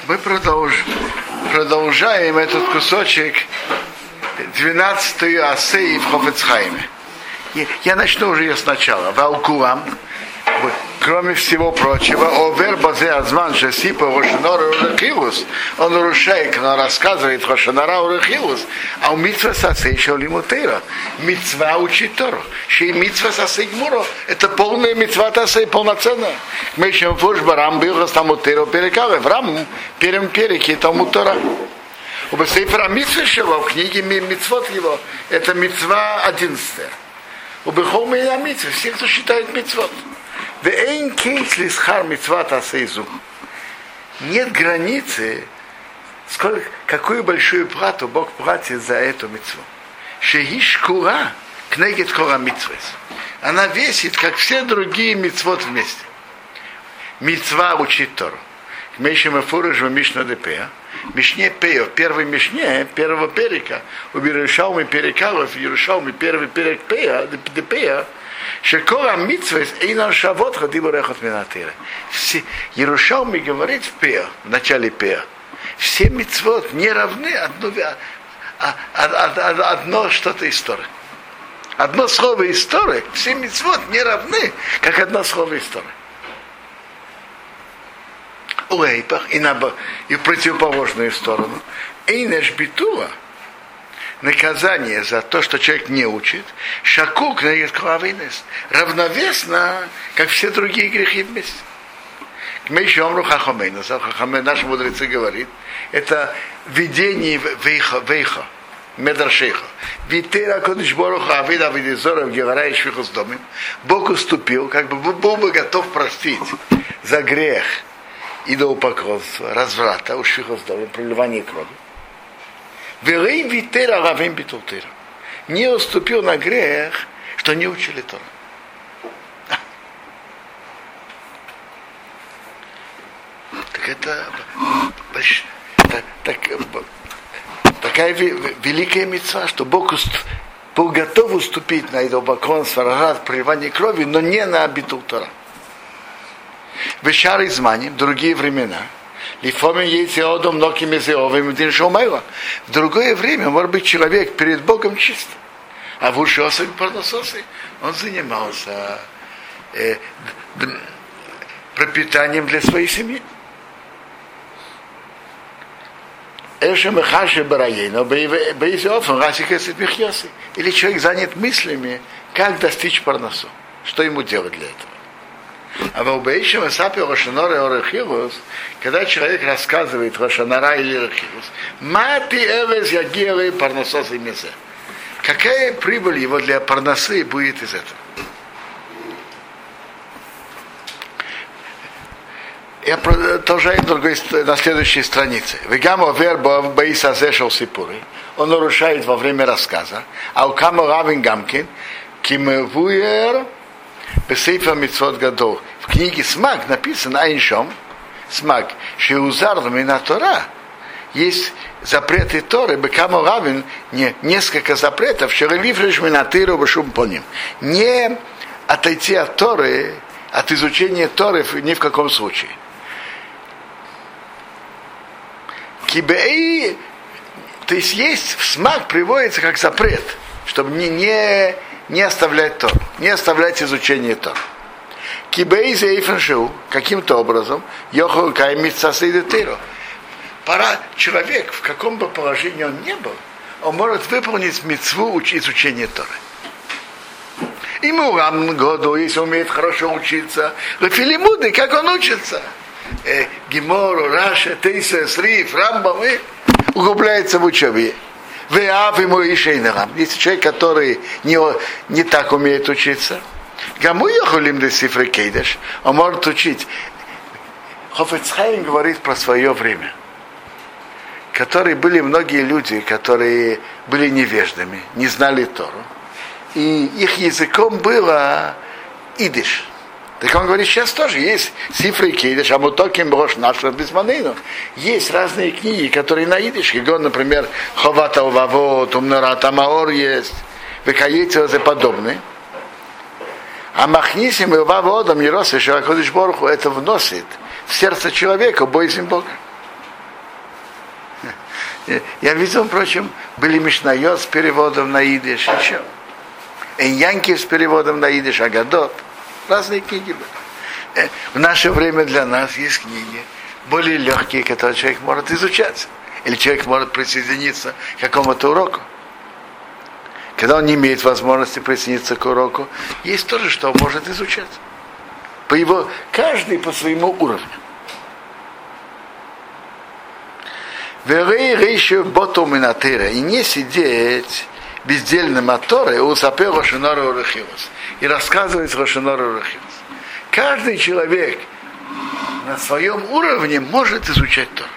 Мы продолжаем этот кусочек 12-ю Асеи в Хофец Хаиме. Я начну уже ее сначала. Валкулам, кроме всего прочего, овер базе азман шесипа рошенора урехилус. Он нарушает, когда рассказывает рошенора урехилус, а у митцва сасей еще лимутейра. Митцва учит Тору. Шей митцва сасей гмуро. Это полная митцва тасей, полноценная. Мы еще в Фуршбарам был тамутейра перекавы. В Раму первом переке тамутора. У Бесейфера митцва шего, в книге митцвот его, это митцва 11. У Бехол меня митцва, все, кто считает митцвот. Нет границы, какую большую плату Бог платит за эту митцву. Шеишкура кнегет кора митцвес. Она весит, как все другие митцвот вместе. Митцва учит Тору. Мы еще в Мишна Депея. Мишне Пея, в первой Мишне, первого перека, у Yerushalmi перекалов, Yerushalmi первый перек Пея, Депея, Шекора митцвес эйнан шавот хадибу рехот минатира. Yerushalmi говорит в Пея, в начале Пея, все митцвот не равны одно что-то истории. Одно слово истории, все митцвот не равны, как одно слово истории. И в противоположную сторону. Эйнеш битула, наказание за то, что человек не учит, шакук равновесно, как все другие грехи вместе. Мы еще наши мудрецы говорят, это видение вейха, медрашейха. Витера кодыш боруха авида видизора в гевара и швихус домим. Бог уступил, как бы был бы готов простить за грех идолопоклонства, разврата, ушвихоздовым, проливания крови. Велей витера равим битултера. Не уступил на грех, что не учили Тору. Так это такая великая мицва, что Бог был готов уступить на идолопоклонство, разврат, проливание крови, но не на битул Тора. В шары змани, в другие времена, в другое время, может быть, человек перед Богом чист. А в ушосах парнососы он занимался пропитанием для своей семьи. Или человек занят мыслями, как достичь парносу, что ему делать для этого. А в Обеишем Эсапе Рошанора и Орехилус, когда человек рассказывает Рошанара или Орехилус, Мати Эвес Ягиевы Парносос и Мезе. Какая прибыль его для парносы будет из этого? Я продолжаю на следующей странице. Вегамо вербо Баиса Зешел Сипуры. Он нарушает во время рассказа. А у Камо Равин Гамкин Кимевуер Бесейфа Митцвот Гадол. В книге Смак написано Айншом, Смак, Шеузар Мина Тора. Есть запреты Торы, Бекамо Равин, несколько запретов, Шерелифриш Минатыру Башум Поним. Не отойти от Торы, от изучения Торы ни в каком случае. Кибей, то есть в Смак приводится как запрет, чтобы не оставлять Тору, не оставлять изучение Торы. Кибейзе и фэншоу, каким-то образом, йохол каймитса сейдетеро. Пора человек, в каком бы положении он ни был, он может выполнить мицву изучения Торы. Ему рам году, если умеет хорошо учиться, лефилимуды, как он учится. Гемору, Раша, Тейса, Сриф, Рамбам, углубляется в учебе. Если человек, который не так умеет учиться, он может учить. Хофец Хаим говорит про свое время, которые были многие люди, которые были невеждами, не знали Тору, и их языком было идиш. Так он говорит, сейчас тоже есть сифры кейдиш, а мутоким брош нашего безманейну. Есть разные книги, которые на идиш, например, Ховат ал-Вавот, Умнарат Амаор есть, Векаетио и подобные. А махнисим и ваводом Ерос и Шаракодиш Боруху это вносит в сердце человека боязнь Бога. Я видел, впрочем, были Мишнайот с переводом на идиш, еще. Эньянки с переводом на идиш, Агадот. Разные книги были. В наше время для нас есть книги более легкие, которые человек может изучать. Или человек может присоединиться к какому-то уроку. Когда он не имеет возможности присоединиться к уроку, есть тоже, что он может изучать. Каждый по своему уровню. И не сидеть бездельным от Торы у сапе Рошонора Урахилус и рассказывать Рошонора Урахилус. Каждый человек на своем уровне может изучать Тору.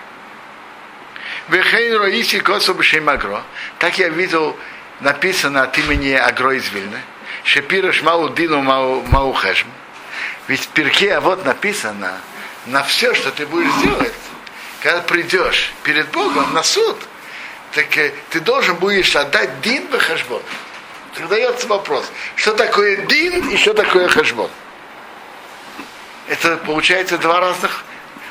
Так я видел, написано от имени Агро из Вильны, Шепираш Мау Дину Мау Хешм. Ведь в Пирке Авот написано, на все, что ты будешь делать, когда придешь перед Богом на суд, так ты должен будешь отдать дин в хешбон. Задается вопрос, что такое дин и что такое хешбон. Это получается два разных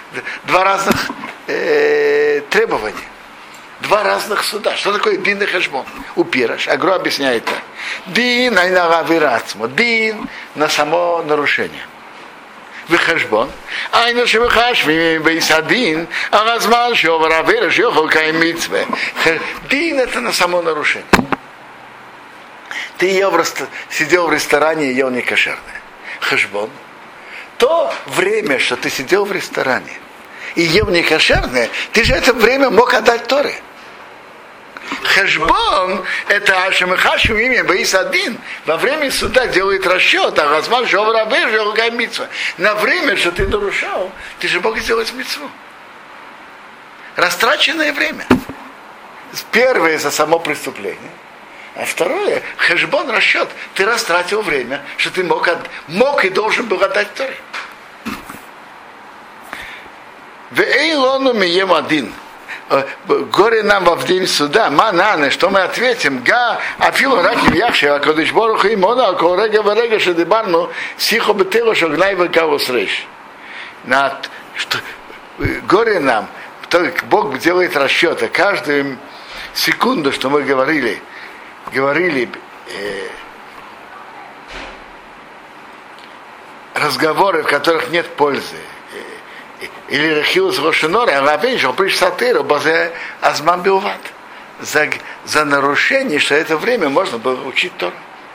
требования. Два разных суда. Что такое дин и хешбон? У Пираш. Агро объясняет так. Дин айнагавирацмо. Дин на само нарушение. וחשבון, היינו שמחשבים ביסדין, על הזמן שעובר עבירה שיוכל קיים מצווה. דין это на само нарушение. Ты сидел в ресторане и ел некошерное. Хешбон. То время, что ты сидел в ресторане и ел некошерное, ты же это время мог отдать Торе. Хешбон – это Ашемахашу имя Баисадин. Во время суда делает расчет, а Газман Шоврабе Желгай Митцва. На время, что ты нарушал, ты же мог сделать митцву. Растраченное время. Первое за само преступление. А второе, хешбон, расчет. Ты растратил время, что ты мог и должен был отдать Торе. Веэйлону мием один. Горе нам во день суда, мананы, что мы ответим, афилу раки вяхши, а кодыш боруху имона, а колрега варега шедибарну, сихо бетело шогнай векавус рейш. Горе нам, Бог делает расчеты, каждую секунду, что мы говорили разговоры, в которых нет пользы, или рахилус рошенора, а равен, что приш сатыру, базе азман билват. За нарушение, что это время можно было учить Тору.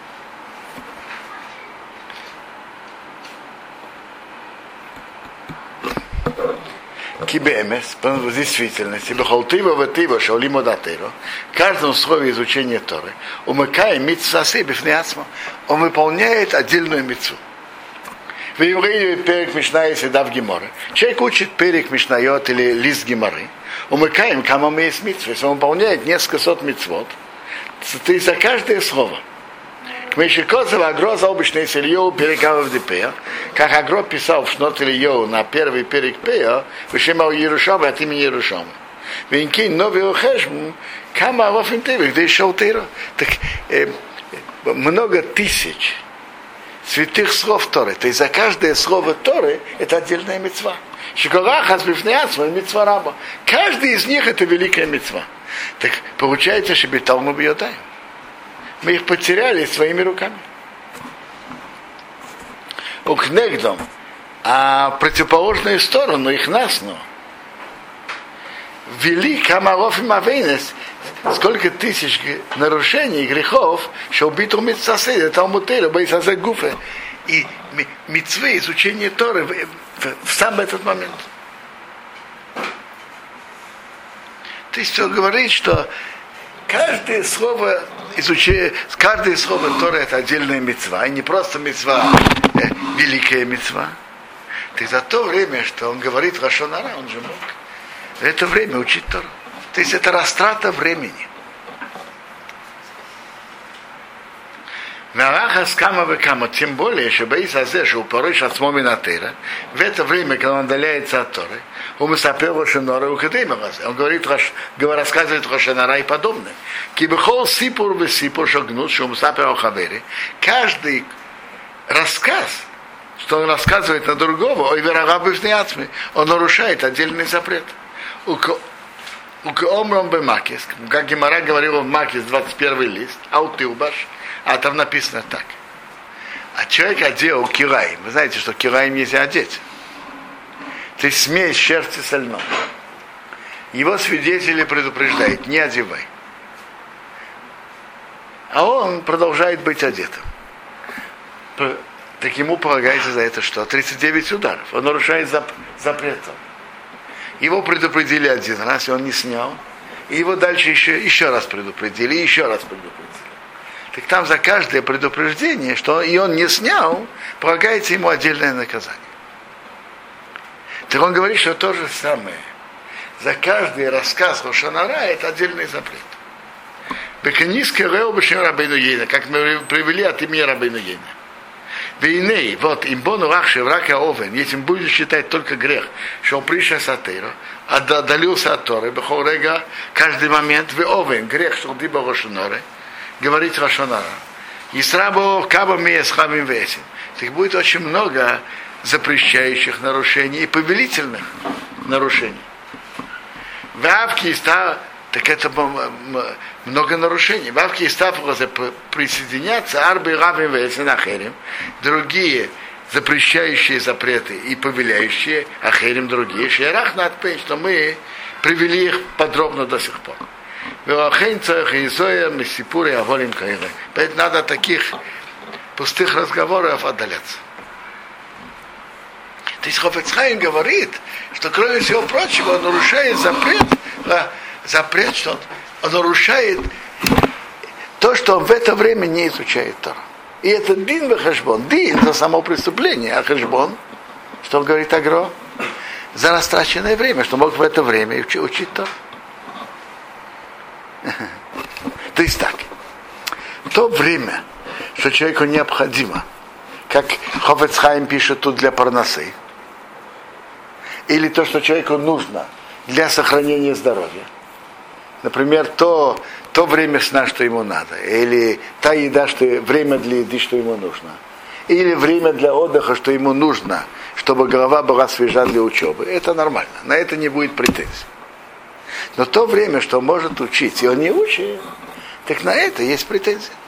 Кибемес, в действительности, бехалтыва ватыва, шаулимо датыро, в каждом условии изучения Торы, умыкая митцвасы бифнеацма, он выполняет отдельную митцву. В евреи перек Мишна есть да в Геморе. Человек учит перек Мишнайот или лист Геморы. Умыкаем, кому мы есть митцвы. Если он выполняет несколько сот митцвот, то за каждое слово. К Мешикозова Агро за обычный Ильёу перекавов Депея, как Агро писал в Шнот Ильёу на первый перек Пея, вышимал Иерушама от имени Иерушама. Венкин новый Хешм, кама лофинтевик, где шел Тейро. Так много тысяч святых слов Торы. То есть за каждое слово Торы это отдельная мицва. Шиколахас бифнеацма мицва раба. Каждый из них это великая мицва. Так получается, что биталну бьёдаем. Мы их потеряли своими руками. Укнегдом. А противоположную сторону их насну ввели камалов и мавейнес. Сколько тысяч нарушений, грехов, что убиту митцасе, талмутейра, бейсазе гуфе. И митцвы, изучение Торы в сам этот момент. То есть он говорит, что каждое слово Торы это отдельная мицва, и не просто мицва, великая мицва. То есть за то время, что он говорит лашон ара, он же мог в это время учить Тору. То есть это растрата времени. Тем более, что боится, что упорой шацмоми на Тера, в это время, когда он отдаляется от Торы, он говорит, рассказывает Рошанара и подобное. Каждый рассказ, что он рассказывает на другого, он нарушает отдельный запрет. Омром бы Макис, как Гемара говорила в Макис, 21 лист, аутилбаш, а там написано так. А человек одел кираим. Вы знаете, что кираим нельзя одеть. Ты смесь шерсти со льном. Его свидетели предупреждают, не одевай. А он продолжает быть одетым. Так ему полагается за это что? 39 ударов. Он нарушает запрет. Его предупредили один раз, и он не снял. И его дальше еще раз предупредили, и еще раз предупредили. Так там за каждое предупреждение, что и он не снял, полагается ему отдельное наказание. Так он говорит, что то же самое. За каждый рассказ Лошон ара это отдельный запрет. Беканийское рео бешем Рабейну Йейна, как мы привели от имени Рабейну Йейна. Вейней, вот, имбону рахши врака овен, если будешь считать только грех, что он пришел с Атейра, отдалился от Торы, бехорега, каждый момент, вы овен, грех, что ты был Рошоноре, говорить Рошонара. И срабо кабами с хамим весим. Так будет очень много запрещающих нарушений и повелительных нарушений. В Авке стало, так это много нарушений. В Авке стало присоединяться арбы равим весим ахерим, другие запрещающие запреты и повеляющие ахерим другие. Шерах надпей, что мы привели их подробно до сих пор. Поэтому надо от таких пустых разговоров отдаляться. То есть Хофец Хаим говорит, что кроме всего прочего он нарушает запрет, что он нарушает то, что он в это время не изучает Тору. И это дин вехешбон. Дин за само преступление, а хешбон, что он говорит Агро, за растраченное время, что мог в это время учить Тору. То есть так, в то время, что человеку необходимо, как Хофец Хаим пишет тут для парносы, или то, что человеку нужно для сохранения здоровья, например, то время сна, что ему надо, или та еда, время для еды, что ему нужно, или время для отдыха, что ему нужно, чтобы голова была свежа для учебы, это нормально, на это не будет претензий. Но то время, что он может учить, и он не учит, так на это есть претензии.